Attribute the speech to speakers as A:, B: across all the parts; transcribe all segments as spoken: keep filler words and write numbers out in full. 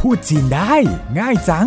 A: พูดจีนได้ง่ายจัง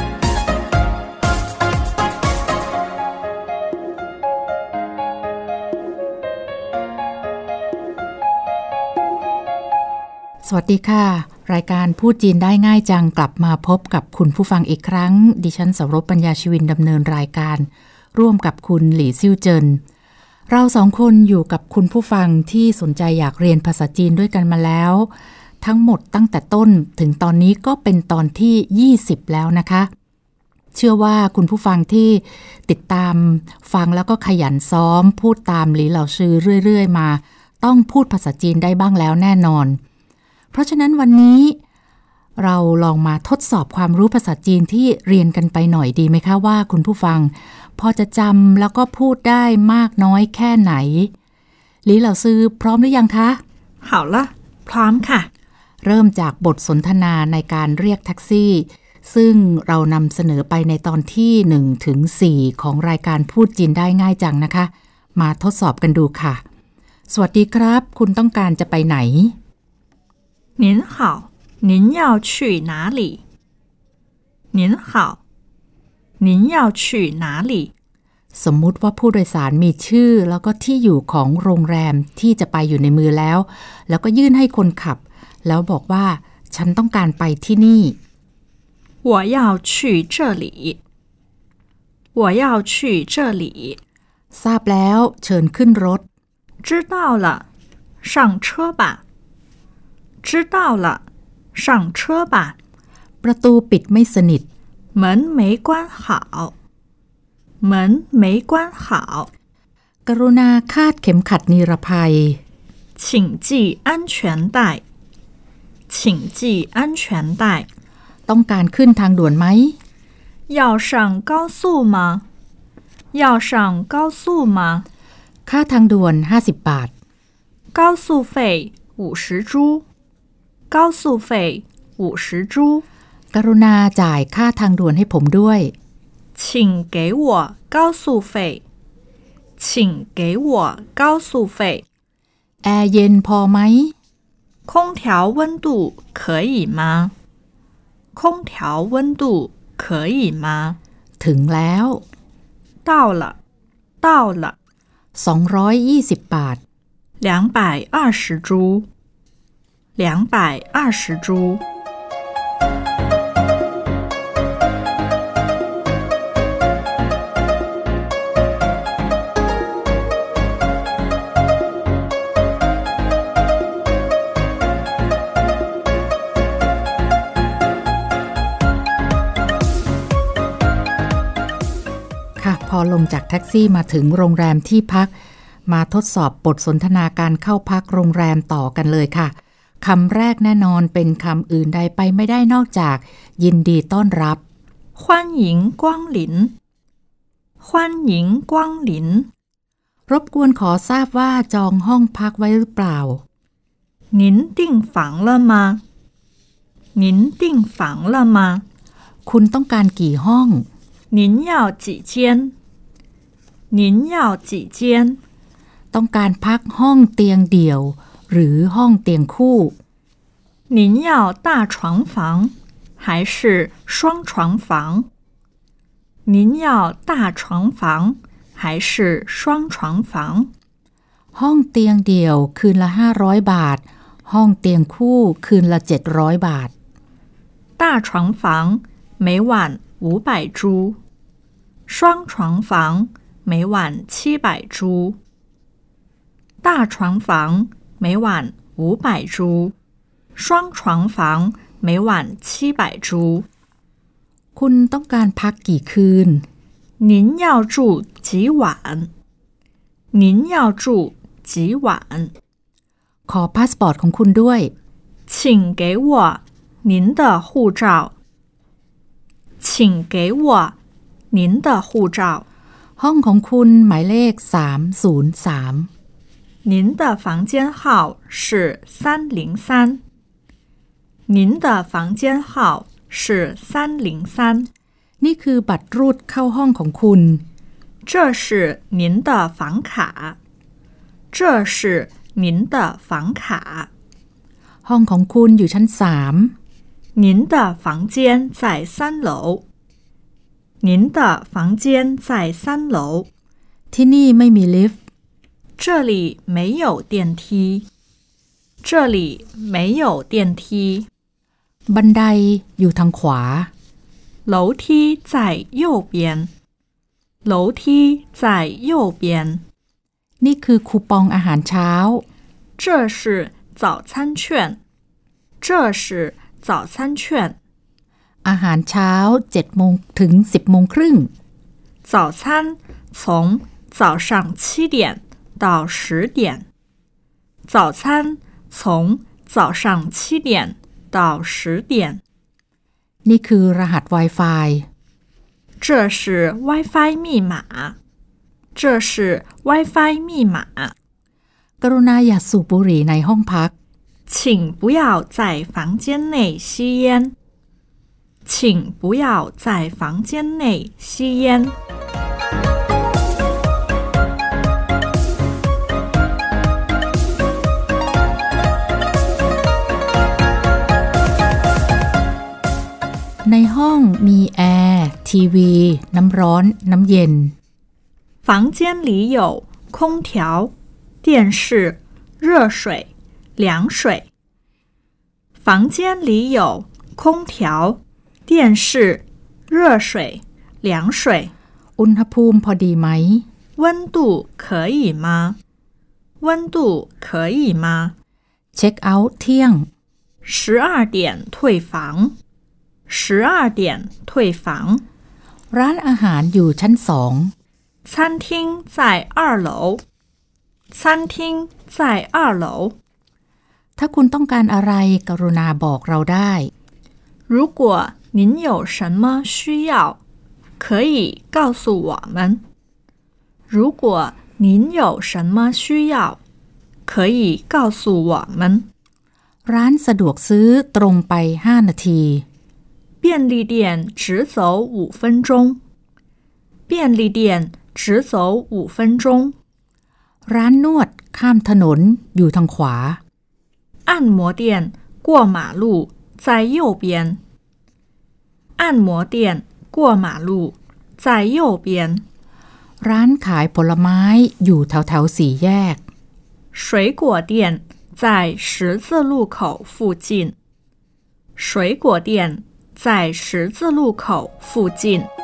B: สวัสดีค่ะรายการพูดจีนได้ง่ายจังกลับมาพบกับคุณผู้ฟังอีกครั้งดิฉันสรบปัญญาชีวินดำเนินรายการร่วมกับคุณหลี่ซิ่วเจินเราสองคนอยู่กับคุณผู้ฟังที่สนใจอยากเรียนภาษาจีนด้วยกันมาแล้วทั้งหมดตั้งแต่ต้นถึงตอนนี้ก็เป็นตอนที่ยี่สิบแล้วนะคะเชื่อว่าคุณผู้ฟังที่ติดตามฟังแล้วก็ขยันซ้อมพูดตามหลี่เหล่าชื่อเรื่อยๆมาต้องพูดภาษาจีนได้บ้างแล้วแน่นอนเพราะฉะนั้นวันนี้เราลองมาทดสอบความรู้ภาษาจีนที่เรียนกันไปหน่อยดีไหมคะว่าคุณผู้ฟังพอจะจำแล้วก็พูดได้มากน้อยแค่ไหนหลี่เหล่าซื้อพร้อมหรือยังคะ
C: 好了พร้อมค่ะ
B: เริ่มจากบทสนทนาในการเรียกแท็กซี่ซึ่งเรานำเสนอไปในตอนที่หนึ่งถึงสี่ของรายการพูดจีนได้ง่ายจังนะคะมาทดสอบกันดูค่ะสวัสดีครับคุณต้องการจะไปไหน
C: 您好您要去哪里您好您要去哪里
B: สมมุติว่าผู้โดยสารมีชื่อแล้วก็ที่อยู่ของโรงแรมที่จะไปอยู่ในมือแล้วแล้วก็ยื่นให้คนขับแล้วบอกว่าฉันต้องการไปที่นี่
C: 我要去这里我要去这里
B: ทราบแล้วเชิญขึ้นรถ
C: 知道了上车吧知道了上车吧
B: ประตูปิดไม่สนิท
C: 门没关好门没关好
B: กรุณาคาดเข็มขัดนิรภัย
C: 请系安全带请系安全带
B: ต้องการขึ้นทางด่วนไหม
C: 要上高速吗要上高速吗
B: ค่าทางด่วนห้าสิบบาท
C: 高速费五十铢高速费五十铢
B: กรุณาจ่ายค่าทางด่วนให้ผมด้วย
C: 请给我高速费请给我高速费
B: แอร์เย็นพอไหม
C: 空调温度可以吗空调温度可以吗
B: ถึงแล้ว
C: 到了到了
B: สองร้อยยี่สิบบาท
C: 两百二十铢两百二十铢
B: พอลงจากแท็กซี่มาถึงโรงแรมที่พักมาทดสอบบทสนทนาการเข้าพักโรงแรมต่อกันเลยค่ะคำแรกแน่นอนเป็นคำอื่นใดไปไม่ได้นอกจากยินดีต้อนรับ
C: 欢迎光临欢迎光临
B: รบกวนขอทราบว่าจองห้องพักไว้หรือเปล่า
C: 您订房了吗您订房了吗
B: คุณต้องการกี่ห้อง
C: 您要几间您要几间
B: ต้องการพักห้องเตียงเดี่ยวหรือห้องเตียงคู่
C: 您要大床房还是双床房您要大床房还是双床房
B: ห้องเตียงเดี่ยวคืนละห้าร้อยบาทห้องเตียงคู่คืนละเจ็ดร้อยบาท
C: 大床房每晚五百铢双床房每晚七百铢大床房每晚五百铢双床房每晚七百铢
B: คุณต้องการพักกี่คืน
C: 您要住几晚您要住几晚
B: ขอพาสปอร์ตของคุณด้วย
C: 请给我您的护照请给我您的护照
B: ห้องของคุณหมายเลขสามศูนย์สาม
C: 您的房间号是三零三您的房间号是三零三
B: นี่คือบัตรรูดเข้าห้องของคุณ
C: 这是您的房卡这是您的房卡
B: ห้องของคุณอยู่ชั้นสาม
C: 您的房间在三楼您的房间在三楼
B: ที่นี่ไม่มีลิฟต์
C: 这里没有电梯这里没有电梯
B: บันไดอยู่ทางขวา
C: 楼梯在右边楼梯在右边
B: นี่คือคูปองอาหารเช้า
C: 这是早餐券这是早餐券
B: อาหารเช้าเจ็ดโมงถึงสิบโมงครึ่ง
C: 早餐从早上七点到十点早餐从早上七点到十点
B: นี่คือรหัส Wi-Fi
C: 这是 Wi-Fi 密码这是 Wi-Fi 密码
B: กรุณาอย่าสูบบุหรี่ในห้องพัก
C: 请不要在房间内吸烟请不要在房间内吸烟
B: ในห้องมีแอร์ทีวีน้ำร้อนน้ำเย็น
C: 房间里有空调电视热水凉水房间里有空调电视热水凉水
B: อุณหภูมิพอดีไหม
C: 温度可以吗温度可以吗
B: เช็คเอาท์เที่ยง
C: 十二点退房十二点退房
B: ร้านอาหารอยู่ชั้นสอง
C: 餐厅在二楼餐厅在二楼
B: ถ้าคุณต้องการอะไรกรุณาบอกเราได้
C: 如果您有什么需要可以告诉我们如果您有什么需要可以告诉我们
B: ร้านสะดวกซื้อตรงไปห้านาที
C: 便利店直走五分钟便利店直走五分钟
B: ร้านนวดข้ามถนนอยู่ทางขวา
C: 按摩店过马路在右边按摩店过马路在右边
B: ร้านขายผลไม้อยู่แถวแถวสี่แยก
C: 水果店在十字路口附近水果店在十字路口附近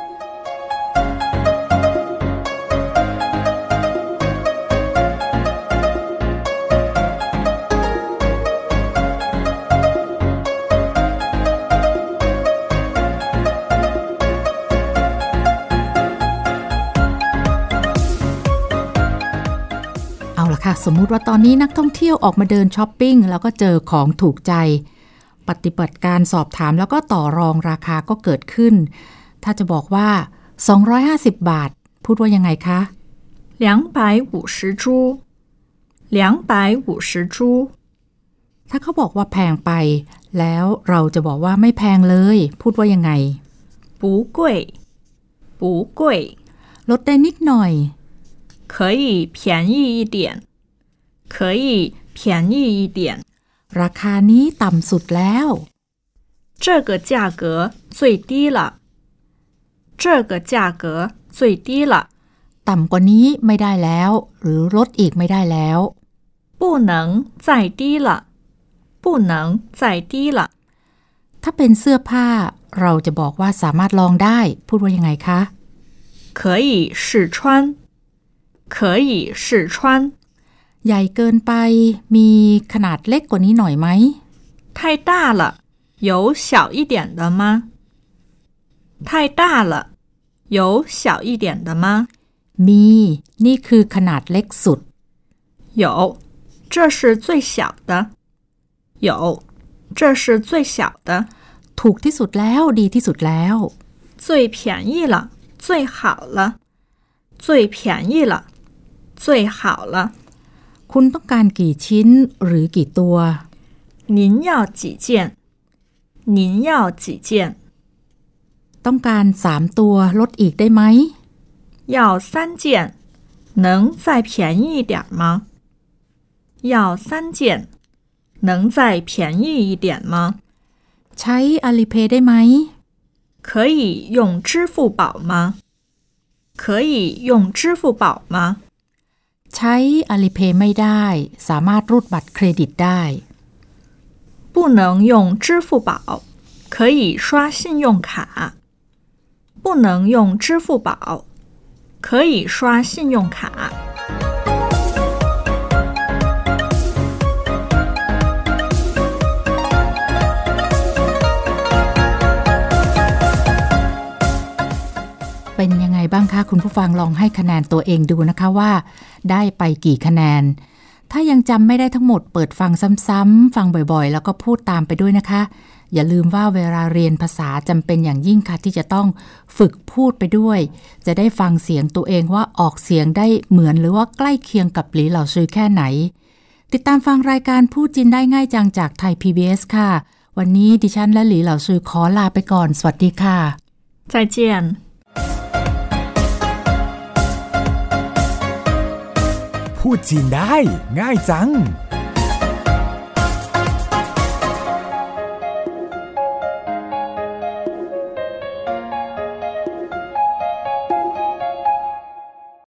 B: สมมุติว่าตอนนี้นักท่องเที่ยวออกมาเดินช้อปปิ้งแล้วก็เจอของถูกใจปฏิบัติการสอบถามแล้วก็ต่อรองราคาก็เกิดขึ้นถ้าจะบอกว่าสองร้อยห้าสิบบาทพูดว่ายังไงคะ
C: 两百五十铢两百五十铢
B: ถ้าเขาบอกว่าแพงไปแล้วเราจะบอกว่าไม่แพงเลยพูดว่ายังไง
C: 不贵不贵
B: ลดได้นิดหน่อย
C: 可以便宜一点可以便宜一点
B: ราคานี้ต่ำสุดแล้ว
C: 这个价格最低了这个价格最低了
B: ต่ำกว่านี้ไม่ได้แล้วหรือลดอีกไม่ได้แล้ว
C: 不能再低了不能再低了
B: ถ้าเป็นเสื้อผ้าเราจะบอกว่าสามารถลองได้พูดว่ายังไงคะ
C: 可以试穿可以试穿
B: ใหญ่เกินไปมีขนาดเล็กกว่านี้หน่อยไหม
C: 太大了有小一点的吗太大了有小一点的吗
B: มีนี่คือขนาดเล็กสุด
C: 有这是最小的有这是最小的
B: ถูกที่สุดแล้วดีที่สุดแล้ว
C: 最便宜了最好了最便宜了最好了
B: คุณต้องการกี่ชิ้นหรือกี่ตัว
C: 您要几件您要几件
B: ต้องการสามตัวลดอีกได้ไหม
C: 要三件能再便宜一点吗要三件能再便宜一点吗
B: ใช้ Alipay ได้ไหม
C: 可以用支付宝吗可以用支付宝吗
B: ใช้ Alipay ไม่ได้สามารถรูดบัตรเครดิตได้
C: 不能用支付宝可以刷信用卡不能用支付宝可以刷信用卡
B: เป็นยังไงบ้างคะคุณผู้ฟังลองให้คะแนนตัวเองดูนะคะว่าได้ไปกี่คะแนนถ้ายังจำไม่ได้ทั้งหมดเปิดฟังซ้ำๆฟังบ่อยๆแล้วก็พูดตามไปด้วยนะคะอย่าลืมว่าเวลาเรียนภาษาจำเป็นอย่างยิ่งค่ะที่จะต้องฝึกพูดไปด้วยจะได้ฟังเสียงตัวเองว่าออกเสียงได้เหมือนหรือว่าใกล้เคียงกับหลีเหล่าซือแค่ไหนติดตามฟังรายการพูดจีนได้ง่ายจังจากไทย พี บี เอส ค่ะวันนี้ดิฉันและหลีเหล่าซือขอลาไปก่อนสวัสดีค่ะ
C: 再见
A: พูดจีนได้ง่ายจัง